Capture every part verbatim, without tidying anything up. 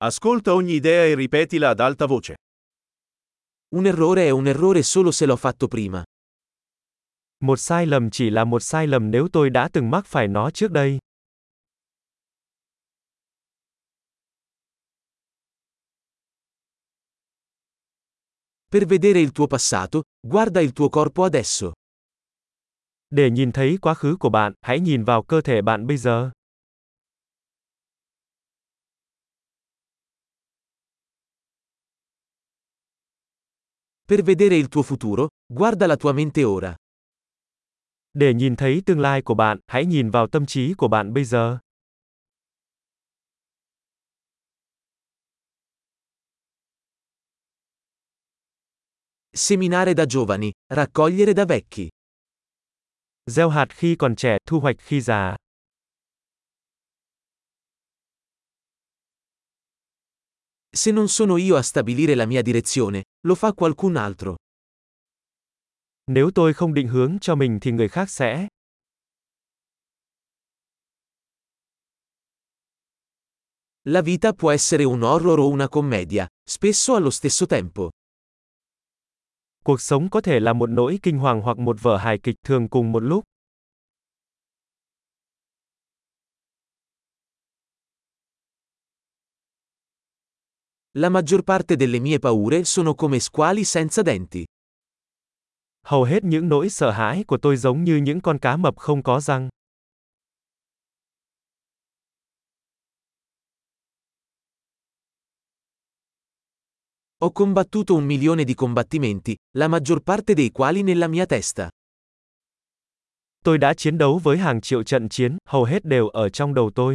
Ascolta ogni idea e ripetila ad alta voce. Un errore è un errore solo se l'ho fatto prima. Một sai lầm chỉ là một sai lầm nếu tôi đã từng mắc phải nó trước đây. Per vedere il tuo passato, guarda il tuo corpo adesso. Để nhìn thấy quá khứ của bạn, hãy nhìn vào cơ thể bạn bây giờ. Per vedere il tuo futuro, guarda la tua mente ora. Để nhìn thấy tương lai của bạn, hãy nhìn vào tâm trí của bạn bây giờ. Seminare da giovani, raccogliere da vecchi. Gieo hạt khi còn trẻ, thu hoạch khi già. Se non sono io a stabilire la mia direzione, lo fa qualcun altro. Nếu tôi không định hướng cho mình thì người khác sẽ. La vita può essere un horror o una commedia, spesso allo stesso tempo. Cuộc sống có thể là một nỗi kinh hoàng hoặc một vở hài kịch, thường cùng một lúc. La maggior parte delle mie paure sono come squali senza denti. Hầu hết những nỗi sợ hãi của tôi giống như những con cá mập không có răng. Ho combattuto un milione di combattimenti, la maggior parte dei quali nella mia testa. Tôi đã chiến đấu với hàng triệu trận chiến, hầu hết đều ở trong đầu tôi.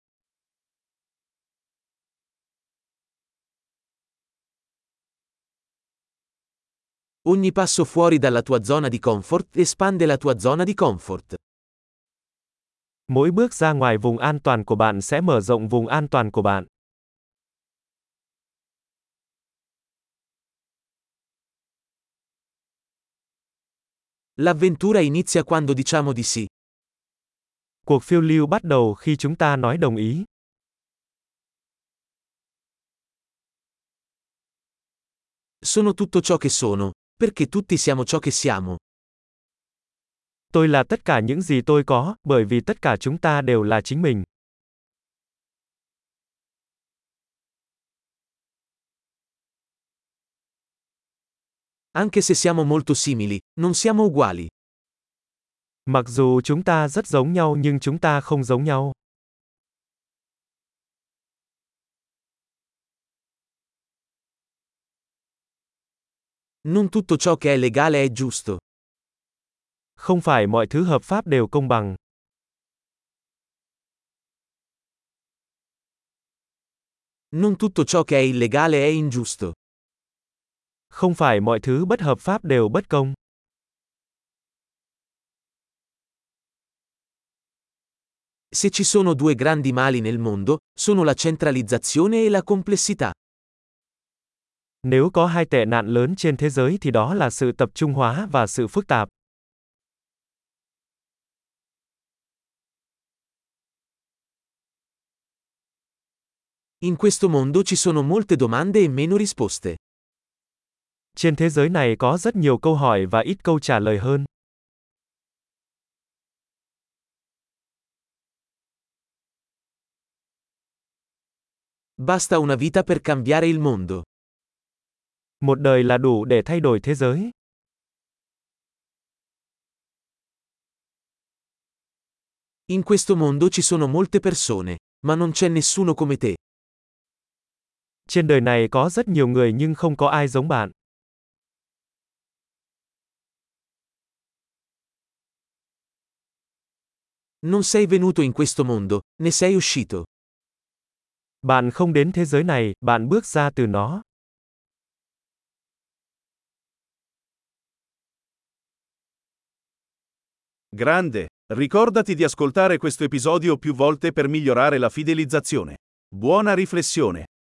Ogni passo fuori dalla tua zona di comfort espande la tua zona di comfort. Mỗi bước ra ngoài vùng an toàn của bạn sẽ mở rộng vùng an toàn của bạn. L'avventura inizia quando diciamo di sì. Cuộc phiêu lưu bắt đầu khi chúng ta nói đồng ý. Sono tutto ciò che sono, perché tutti siamo ciò che siamo. Tôi là tất cả những gì tôi có, bởi vì tất cả chúng ta đều là chính mình. Anche se siamo molto simili, non siamo uguali. Mặc dù chúng ta rất giống nhau nhưng chúng ta không giống nhau. Non tutto ciò che è legale è giusto. Không phải mọi thứ hợp pháp đều công bằng. Non tutto ciò che è illegale è ingiusto. Không phải mọi thứ bất hợp pháp đều bất công. Se ci sono due grandi mali nel mondo, sono la centralizzazione e la complessità. Nếu có hai tệ nạn lớn trên thế giới thì đó là sự tập trung hóa và sự phức tạp. In questo mondo ci sono molte domande e meno risposte. Trên thế giới này có rất nhiều câu hỏi và ít câu trả lời hơn. Basta una vita per cambiare il mondo. Một đời là đủ để thay đổi thế giới. In questo mondo ci sono molte persone, ma non c'è nessuno come te. Trên đời này có rất nhiều người nhưng không có ai giống bạn. Non sei venuto in questo mondo, ne sei uscito. Bạn không đến thế giới này, bạn bước ra từ nó. Grande, ricordati di ascoltare questo episodio più volte per migliorare la fidelizzazione. Buona riflessione!